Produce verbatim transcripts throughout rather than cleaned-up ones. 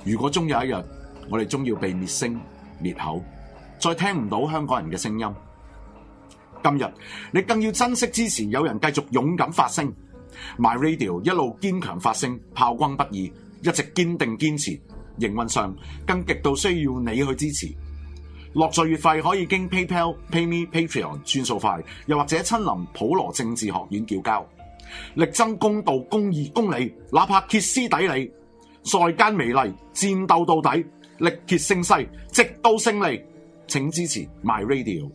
如果終有一日，我哋終要被滅聲滅口，再聽唔到香港人嘅聲音，今日你更要珍惜支持有人繼續勇敢發聲 My Radio 一路堅強發聲，炮轟不已，一直堅定堅持，營運上更極度需要你去支持。落座月費可以經 PayPal、PayMe、Patreon 轉數快，又或者親臨普羅政治學院叫交，力爭公道、公義、公理，哪怕歇斯底里，在間美利，戰鬥到底，力竭勝勢，直到勝利。請支持 My Radio。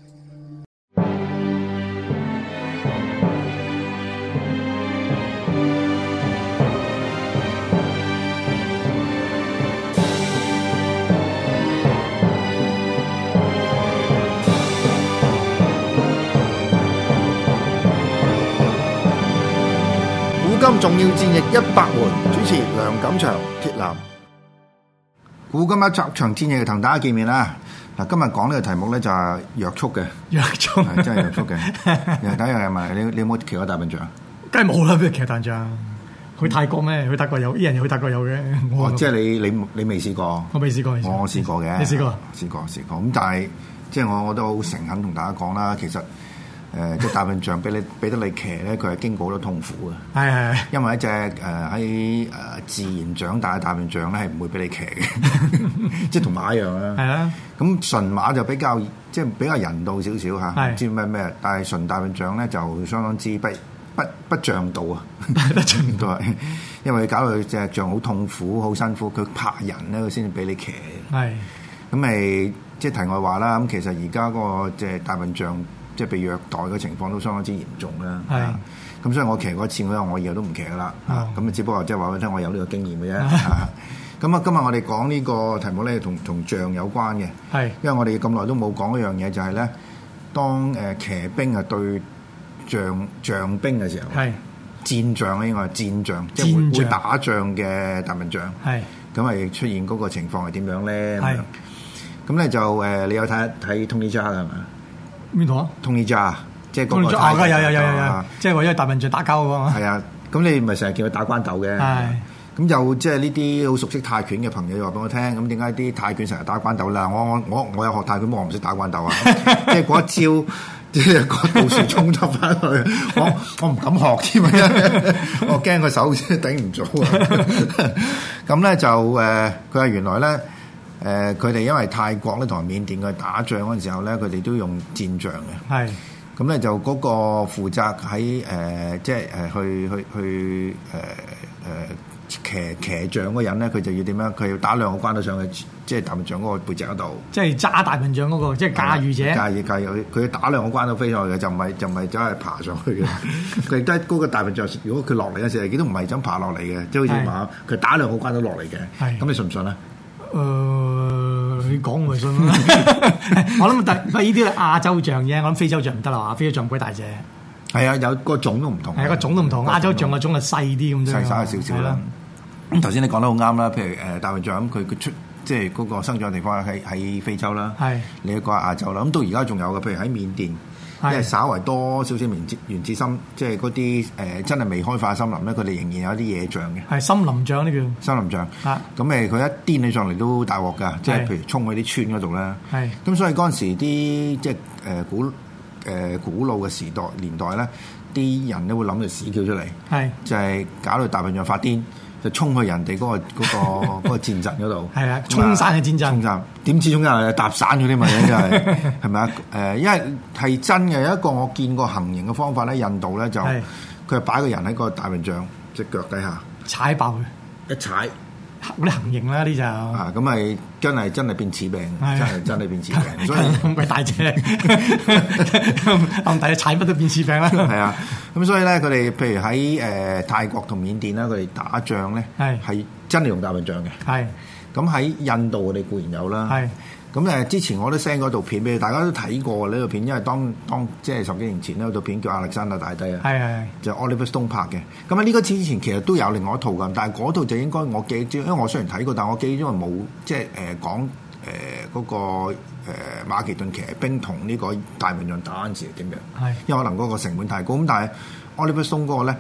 古今重要戰役一百回，主持梁錦祥、鐵男。古今一集場戰役同大家見面啦。嗱，今日講呢個題目咧就係約束嘅， 約束係真係約束嘅。第一樣係咪你你有冇騎過大笨象？ 梗係冇啦，邊度騎大笨象？去泰國咩？去泰國有，啲人去泰國有嘅。 哦，即係你你你未試過？ 我未試過。 我我試過嘅。 你試過？ 試過試過。咁但係即係我我都好誠懇同大家講啦，其實。誒，即係大笨象俾你俾得你騎咧，佢係經過好多痛苦嘅。係係，因為一隻誒喺誒自然長大嘅大笨象咧，係唔會俾你騎嘅，即係同馬一樣啦。係啊，咁純馬就比較即係比較人道少少嚇，唔知咩咩。但係純大笨象咧就相當之不不不像道啊，不像道，因為搞到隻象好痛苦、好辛苦，佢怕人咧，佢先至俾你騎。係，咁咪即係題外話啦。咁其實而家嗰個即係大笨象。即係被虐待嘅情況都相當之嚴重啦。係，咁所以我騎過一次，我我以後都唔騎啦。啊，咁啊，只不過即係話俾你聽，我有呢個經驗嘅啫。咁啊，今日我哋講呢個題目咧，同同象有關嘅。係，因為我哋咁耐都冇講一樣嘢，就係咧，當誒騎兵啊對象象兵嘅時候，係戰象咧，應該係戰象，即係會會打仗嘅大笨象。係，咁係出現嗰個情況係點樣咧？係，咁咧就誒，你有睇睇 Tony Jaa 係嘛？邊度啊 ？Tony Jaa，即係嗰個。哦，有有有有有，即係為咗大笨象打交嗰個嘛。係啊，咁你咪成日叫佢打關鬥嘅。係。咁就即係呢啲好熟悉泰拳嘅朋友就話俾我聽，咁點解啲泰拳成日打關鬥啦？我我我我有學泰拳，我唔識打關鬥啊！即係嗰一招，即係個道士衝咗翻去，我我唔敢學添啊！我驚個手頂唔住啊！咁咧就誒，佢話原來咧。誒佢哋因為泰國咧同埋緬甸佢打仗嗰陣時候咧，佢哋都用戰象嘅。係，咁咧就嗰個負責喺誒、呃、即係誒去去去誒誒、呃、騎騎象嗰人咧，佢就要點樣？佢要打兩個關斗上去，即係大笨象嗰個背脊嗰度。即係揸大笨象嗰、那個，即係駕馭者。駕馭駕馭，佢要打兩個關斗飛上去嘅，就唔係就唔係走係爬上去嘅。佢都係嗰個大笨象，如果佢落嚟嘅時候，佢都唔係咁爬落嚟嘅，即係好似馬，佢打兩個關斗落嚟嘅。係，咁你信唔信咧？誒、呃，你講我咪信咯。我諗但係呢啲係亞洲象啫，我諗非洲象唔得啦，非洲象鬼大隻。係啊，有個種都唔同。係個種都唔同，亞洲象個種係細啲咁啫。細細少少啦。咁頭先你講得好啱啦，譬如誒大笨象咁，佢佢出即係嗰個生長地方喺喺非洲啦。係。你一個亞洲啦，咁到而家仲有嘅，譬如喺緬甸。即係稍為多少少原子原子森，即係嗰啲誒真係未開化森林咧，佢哋仍然有啲野象嘅。係森林象呢叫。森林象。啊。咁誒，佢一癲起上嚟都大鑊㗎，即係譬如衝去啲村嗰度咧。係。咁所以嗰陣時啲即係誒古誒、呃、古老嘅時代年代咧，啲人都會諗住屎橋出嚟。係。就係、是、搞到大笨象發癲。就衝去人哋嗰、那個嗰、那個嗰、那個戰陣嗰度，係啊，衝散去戰陣，衝散點知中間搭散咗啲咪真係係咪啊？誒，因為係真嘅，有一個我見過行刑嘅方法咧，印度咧就佢係擺個人喺個大笨象隻腳底下踩爆佢，一踩嗰啲行刑啦呢就啊，咁咪真係真係變齒病，真係真係變齒病，所以咁鬼大隻，咁大隻踩乜都變齒病啦。係啊，咁所以咧，佢哋譬如喺誒、呃、泰國同緬甸啦，佢哋打仗咧係真係用大笨象嘅。係咁喺印度，我哋固然有啦。係咁誒，之前我都 send 嗰套片俾你，大家都睇過呢套片，因為當當即係十幾年前呢套片叫亞歷山大大帝啊，係係就 Oliver Stone 拍嘅。咁啊呢個之前其實都有另外一套㗎，但係嗰套就應該我記住，因為我雖然睇過，但係我記住因為冇即係誒講誒嗰個誒馬其頓騎兵同呢個大笨象打嗰陣時點樣，係因為可能嗰個成本太高。咁但係 Oliver Stone 嗰個咧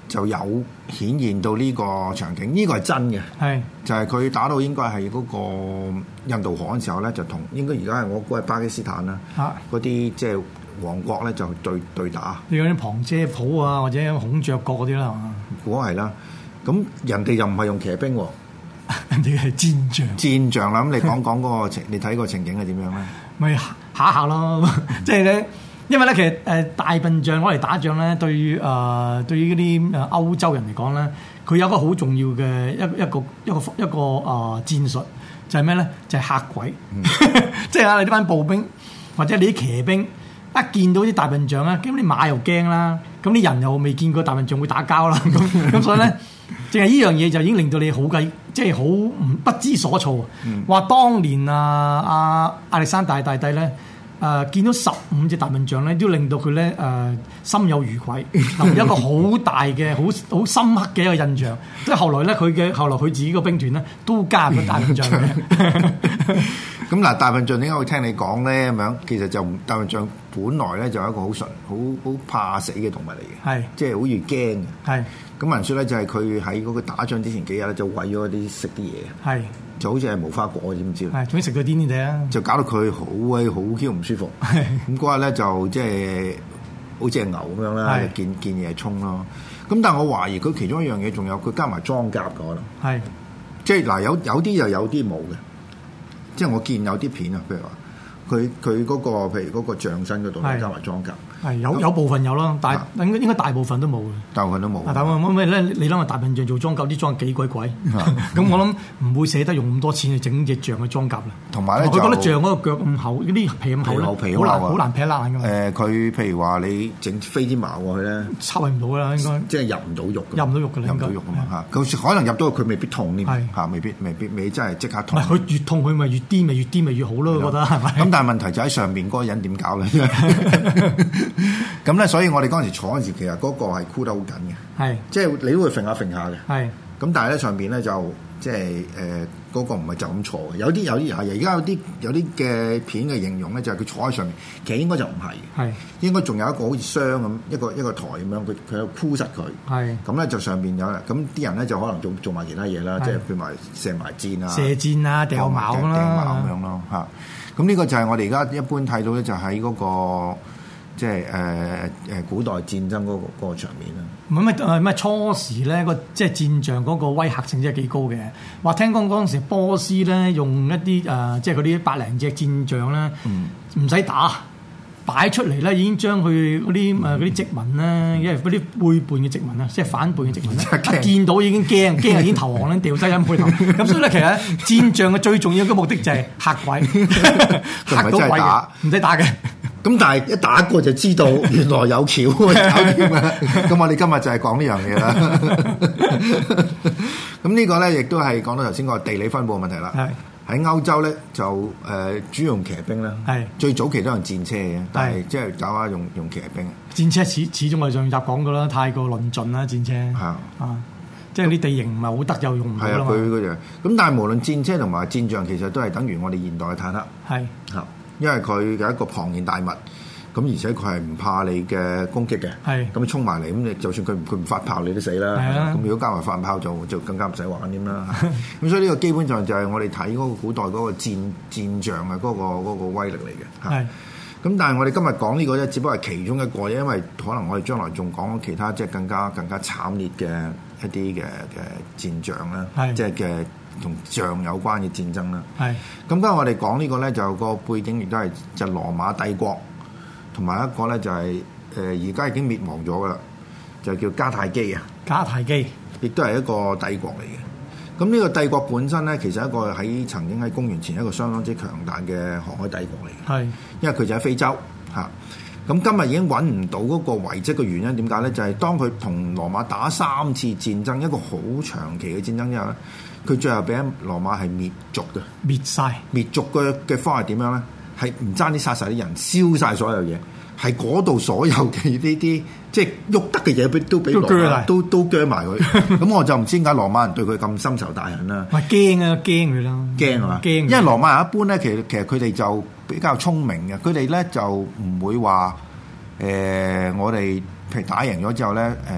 就有顯現到呢個場景，呢、這個係真嘅，係就係佢打到應該係嗰個印度河嘅時候咧，就同應該而家係我估係巴基斯坦啦，嗰啲即係王國咧就對對打。你講啲旁遮普啊，或者孔雀國嗰啲啦，係嘛？估係啦，咁人哋又唔係用騎兵喎，人哋係戰象。戰象啦，咁你講講嗰個情，你睇個情景係點樣咧？咪下下咯，即係咧。因為咧，其實誒大笨象攞嚟打仗咧，對於誒、呃、對於嗰啲誒歐洲人嚟講咧，佢有一個好重要嘅一一個一個一個誒、呃、戰術，就係咩咧？就係、是、嚇鬼，嗯、即係啊！你呢班步兵或者你啲騎兵一見到啲大笨象咧，咁你馬又驚啦，咁啲人又未見過大笨象會打交啦，咁咁所以咧，淨係呢樣嘢就已經令到你好計，即係好唔不知所措。話、嗯、當年啊啊亞歷山大大帝咧。誒、呃、見到十五隻大笨象咧，都令到佢咧誒心有餘悸，有一個好大嘅、好好深刻嘅一個印象。即係後來咧，佢嘅後來佢自己個兵團咧都加入咗大笨象嘅。咁嗱，大笨象點解會聽你講咧？咁樣其實就大笨象本來咧就係一個好純、好好怕死嘅動物嚟嘅，係即係好似驚嘅。係咁聞説咧，就係佢喺嗰個打仗之前幾日咧，就餵咗啲食啲嘢。係。就好似係無花果，知唔知？係，總之食到癲癲地啊！就搞到佢好鬼好 Q 唔舒服。咁嗰日咧就即係好似隻牛咁樣啦，見見嘢衝咯。咁但係我懷疑佢其中一樣嘢，仲有佢加埋裝甲嘅可能。係，即係嗱，有有啲又有啲冇嘅。即係我見有啲片啊，譬如話佢佢嗰個譬如嗰個象身嗰度加埋裝甲。係有有部分有咯，但係應該應該大部分都冇嘅。大部分都冇。大部分因為咧，你諗下大笨象做裝甲啲裝幾鬼貴，咁我諗唔會捨得用咁多錢去整隻象嘅裝甲啦。同埋咧，佢覺得象嗰個腳咁厚，嗰啲皮咁厚咧，好難好難劈爛㗎嘛。誒，佢譬如話你整飛啲矛過去咧，插唔到啦，應該即係入唔到肉。入唔到肉㗎啦，入唔到肉㗎嘛嚇。佢可能入到佢未必痛添嚇，未必未必未真係即刻痛。唔係佢越痛佢咪越癲咪越癲咪越好咯，我覺得係咪？咁但係問題就喺上面嗰個人點搞咧？咁咧，所以我哋嗰陣時坐嗰陣時，其實嗰個係箍得好緊嘅，係即係你都會揈下揈下嘅，係咁。但係咧上邊咧就即係誒嗰個唔係就咁坐嘅，有啲有啲係而家有啲有啲嘅片嘅形容咧，就係佢坐喺上面，其實應該就唔係，係應該仲有一個好似箱咁一個一個台咁樣，佢佢有箍實佢，係咁咧就上邊有啦。咁啲人咧就可能做做埋其他嘢啦，即係譬如埋射埋箭啊、射箭啊、掉矛啦、掉矛咁樣咯嚇。咁呢個就係我哋而家一般睇到咧，就喺嗰個。即係誒誒古代戰爭嗰、嗰個嗰個場面啦。唔係咩誒咩初時咧個即係戰象嗰個威嚇性真係幾高嘅。話聽講嗰陣時波斯咧用一啲誒、呃、即係嗰啲百零隻戰象咧，唔使、嗯、打擺出嚟咧，已經將佢嗰啲誒嗰啲殖民咧，因為嗰啲背叛嘅殖民啊，即係反叛嘅殖民咧，一見到已經驚驚已經投降咧，掉低音配頭。咁所以咧，其實戰象嘅最重要嘅目的就係嚇鬼，嚇到鬼嘅，唔使打嘅。咁但係一打過就知道原來有橋搞掂啦。咁我哋今日就係講呢樣嘢啦。咁呢個咧亦都係講到頭先個地理分佈嘅問題啦。係喺歐洲咧就誒、呃、主要用騎兵啦。係最早期都用戰車嘅，但係即係搞下用用騎兵。戰車始始終係上集講過啦，太過論盡啦戰車。係啊，啊即係啲地形唔係好得又用唔到啦嘛。係啊，佢嗰樣。咁但係無論戰車同埋戰象，其實都係等於我哋現代嘅坦克。係嚇。因為佢嘅一個龐然大物，咁而且佢係唔怕你嘅攻擊嘅，係咁衝埋嚟，咁你就算佢唔佢唔發炮，你都死啦。係啊，咁如果加埋發炮就就更加唔使玩添啦。咁所以呢個基本上就係我哋睇嗰個古代嗰個戰戰象嘅嗰個嗰個威力嚟嘅。係咁，但係我哋今日講呢個咧，只不過係其中一個，因為可能我哋將來仲講其他即係更加更加慘烈嘅一啲嘅嘅戰象啦，即係嘅。同象有關嘅戰爭啦，係咁。今日我哋講呢個咧，就個背景亦都係就羅馬帝國，同埋一個咧就係誒而家已經滅亡咗噶啦，就叫迦太基啊。迦太基亦都係一個帝國嚟嘅。咁呢個帝國本身咧，其實一個喺曾經喺公元前一個相當之強大嘅航海帝國嚟嘅。係，因為佢就喺非洲嚇。咁今日已經揾唔到嗰個遺跡嘅原因點解咧？就係、是、當佢同羅馬打三次戰爭，一個好長期嘅戰爭之後咧，佢最後俾羅馬係滅族嘅，滅晒了。滅族嘅嘅方係點樣咧？係唔爭啲殺晒啲人，燒晒所有嘢，係嗰度所有嘅呢啲即係喐得嘅嘢，都俾羅馬都都鋸埋佢。咁我就唔知點解羅馬人對佢咁深仇大恨啦。喂，驚啊，驚佢啦，驚係嘛？驚，因為羅馬人一般咧，其實其實佢哋就比較聰明嘅，佢哋咧就唔會話誒、呃，我哋譬如打贏咗之後咧，誒、呃、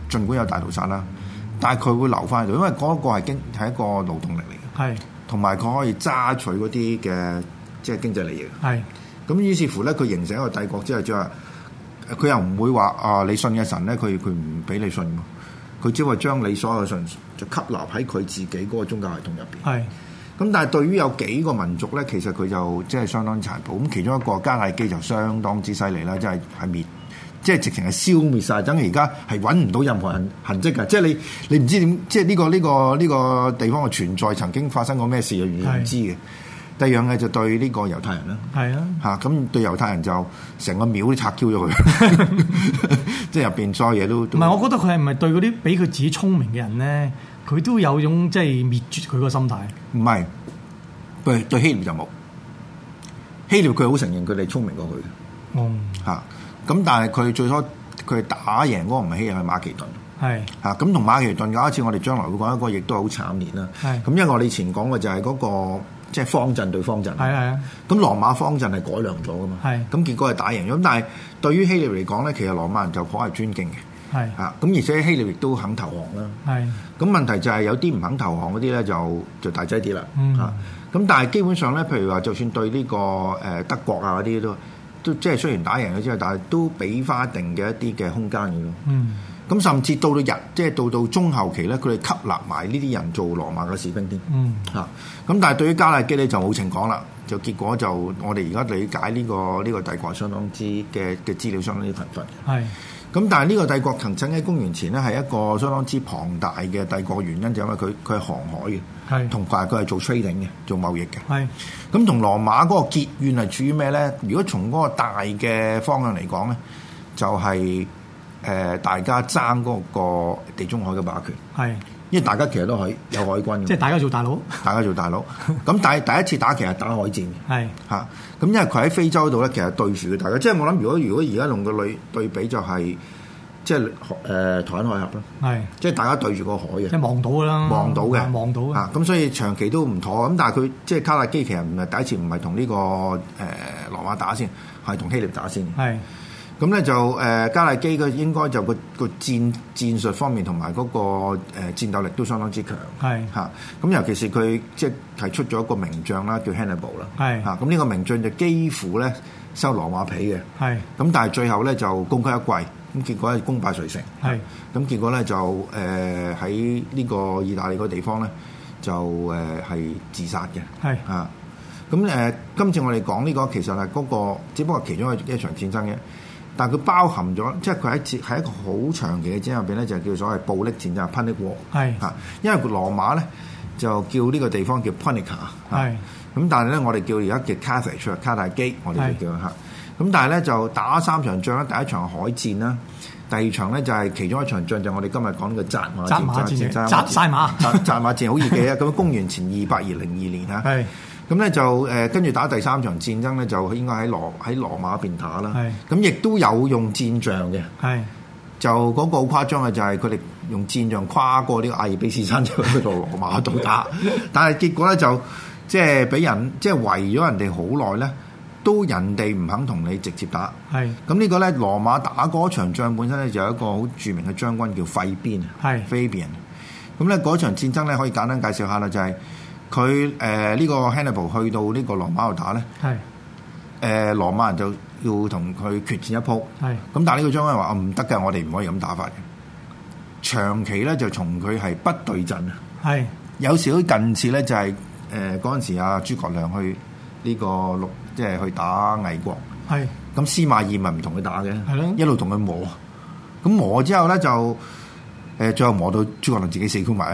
儘管有大屠殺啦，但係佢會留翻喺度，因為嗰個係經係一個勞動力嚟嘅，係同埋佢可以揸取嗰啲嘅即係經濟利益，係咁於是乎咧，佢形成一個帝國之後，就係佢又唔會話啊，你信嘅神咧，佢佢唔俾你信，佢只係將你所有嘅信就吸納喺佢自己嗰個宗教系統入邊，係。咁但係對於有幾個民族咧，其實佢就即係相當殘暴。咁其中一個迦太基就相當之犀利啦，即係係滅，即係直情係消滅晒。等於而家係揾唔到任何痕痕跡嘅，即係你你唔知點，即係呢個呢個呢個地方嘅存在曾經發生過咩事嘅，原來唔知嘅。第二樣嘅就對呢個猶太人啦，係啊嚇，咁對猶太人就成個廟都拆 Q 咗佢，即係入邊所有嘢都唔係。我覺得佢係唔係對嗰啲比佢自己聰明嘅人咧？佢都有種即係滅絕佢個心態，唔係對對希臘就冇，希臘佢好承認佢哋聰明過佢嘅，嗯嚇，咁但係佢最初佢打贏嗰個唔係希臘係馬其頓，係嚇，咁同馬其頓有一次我哋將來會講一個亦都係好慘烈啦，係咁因為我哋以前講嘅就係嗰個即係方陣對方陣，係係啊，咁羅馬方陣係改良咗噶嘛，係咁結果係打贏咗，咁但係對於希臘嚟講咧，其實羅馬人就頗係尊敬嘅。係嚇，咁而且希臘亦都肯投降啦。係，咁問題就係有啲唔肯投降嗰啲咧，就就大劑啲啦。嗯，嚇，咁但係基本上咧，譬如話，就算對呢個誒德國啊嗰啲都都即係雖然打贏咗之後，但係都俾翻一定嘅一啲嘅空間嘅咯。嗯，咁甚至到到日，即係到到中後期咧，佢哋吸納埋呢啲人做羅馬嘅士兵添。嗯，嚇，咁但係對於迦太基咧就冇情講啦，就結果就我哋而家理解呢個呢個帝國相當之嘅嘅資料相當之貧乏。係。咁但係呢個帝國曾經喺公元前咧係一個相當之龐大嘅帝國，原因就因為佢佢係航海嘅，係同埋佢係做 trading 嘅，做貿易嘅，係咁同羅馬嗰個結怨係處於咩咧？如果從嗰個大嘅方向嚟講咧，就係、是、誒、呃、大家爭嗰個地中海嘅霸權，係因為大家其實都係有海軍嘅，即係大家做大佬，大家做大佬。咁但係第一次打其實打海戰，係嚇。咁因為佢喺非洲度咧，其實對住嘅大家，即係我諗，如果如果而家用個類對比就係、是，即係誒台灣海峽啦，係即係大家對住個海嘅，即係望到㗎啦，望到嘅，望到嘅。啊，咁所以長期都唔妥。咁但係佢即係迦太基其實唔係第一次，唔係同呢個誒、呃、羅馬打先，係同希臘打先。係。咁咧就誒迦太基嘅應該就個個戰戰術方面同埋嗰個誒戰鬥力都相當之強，係嚇。咁尤其是佢即係提出咗一個名將啦，叫 Hannibal 啦，係嚇。咁呢個名將就幾乎咧收羅馬皮嘅，係。咁但係最後咧就功虧一簣，咁結果係功敗垂成，係。咁結果咧就誒喺呢個意大利個地方咧就誒係自殺嘅，係嚇。咁誒今次我哋講呢個其實係嗰個只不過其中一一場戰爭嘅。但係佢包含咗，即係佢喺喺一個好長期嘅戰爭入邊咧，就叫所謂暴力戰爭 （Punic War）。係嚇，因為羅馬咧就叫呢個地方叫 Punica。係咁，但係咧我哋叫而家叫 Carthage 卡太基，我哋就叫嚇。咁但係咧就打三場仗啦，第一場海戰啦，第二場咧就係其中一場仗就係我哋今日講嘅扎馬戰。扎馬戰，扎曬馬。扎扎馬戰好易記啊！咁公元前二百二零二年嚇。係。咁咧就誒跟住打第三場戰爭咧，就應該喺羅喺羅馬嗰邊打啦。係咁亦都有用戰象嘅。係就嗰個好誇張嘅就係佢哋用戰象跨過呢個阿爾卑斯山就去到羅馬度打，但係結果咧就即係俾人即係圍咗人哋好耐咧，都人哋唔肯同你直接打。係咁呢個咧羅馬打嗰場仗本身咧就有一個好著名嘅將軍叫費邊。係 Fabian。咁咧嗰場戰爭咧可以簡單介紹下啦，就係、是。佢誒呢個 Hannibal 去到呢個羅馬度打咧，係誒、呃、羅馬人就要同佢決戰一鋪，係咁但係呢個將軍話唔得嘅，我哋唔可以咁打法嘅。長期咧就從佢係不對陣啊，係有時都近似咧就係誒嗰陣時阿諸葛亮去呢個陸即係去打魏國，係咁司馬懿咪唔同佢打嘅，係咯，一路同佢磨，咁磨之後咧就。誒最後磨到諸葛亮自己死箍埋，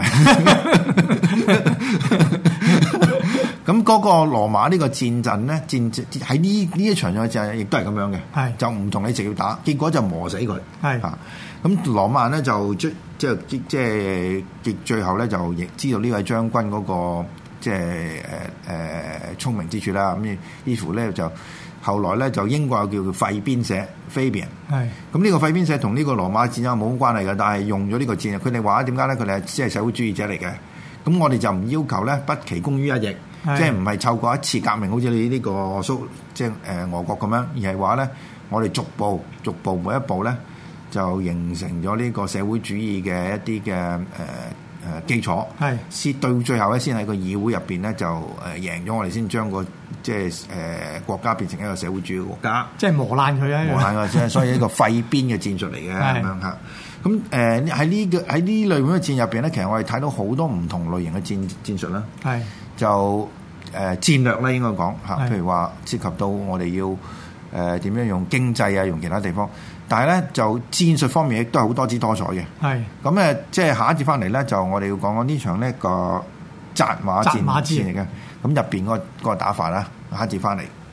咁嗰個羅馬呢個戰陣咧，戰喺呢呢一場嘅戰亦都係咁樣嘅，係就唔同你直接打，結果就磨死佢，係嚇。咁羅馬人咧就即即即即係結最後咧就亦知道呢位將軍嗰個即係誒誒聰明之處啦。咁於是乎咧就。後來咧就英國有叫做費邊社 Fabian， 係咁呢個費邊社同呢個羅馬戰爭冇乜關係嘅，但係用咗呢個戰，佢哋話點解咧？佢哋係即係社會主義者嚟嘅，咁我哋就唔要求咧不期功於一役，即係唔係湊過一次革命，好似你呢個蘇即係誒俄國咁樣，而係話咧我哋逐步逐步每一步咧就形成咗呢個社會主義嘅一啲嘅誒誒基礎，係先到最後咧，先喺個議會入邊咧就誒贏咗我哋，先將個即係誒國家變成一個社會主義國家，即係磨爛佢啊！磨爛佢啫，所以呢個廢邊嘅戰術嚟嘅咁樣嚇。咁誒喺呢個喺呢類咁嘅戰入邊咧，其實我哋睇到好多唔同類型嘅戰戰術啦。係就誒、呃、戰略咧，應該講嚇，譬如話涉及到我哋要誒點樣用經濟啊，用其他地方。但係咧就戰術方面亦都係好多姿多彩嘅。係咁誒，即係下一節翻嚟咧，就我哋要講講呢場呢個扎馬戰戰嚟嘅。咁入邊嗰個嗰個打法啦，下一節翻嚟。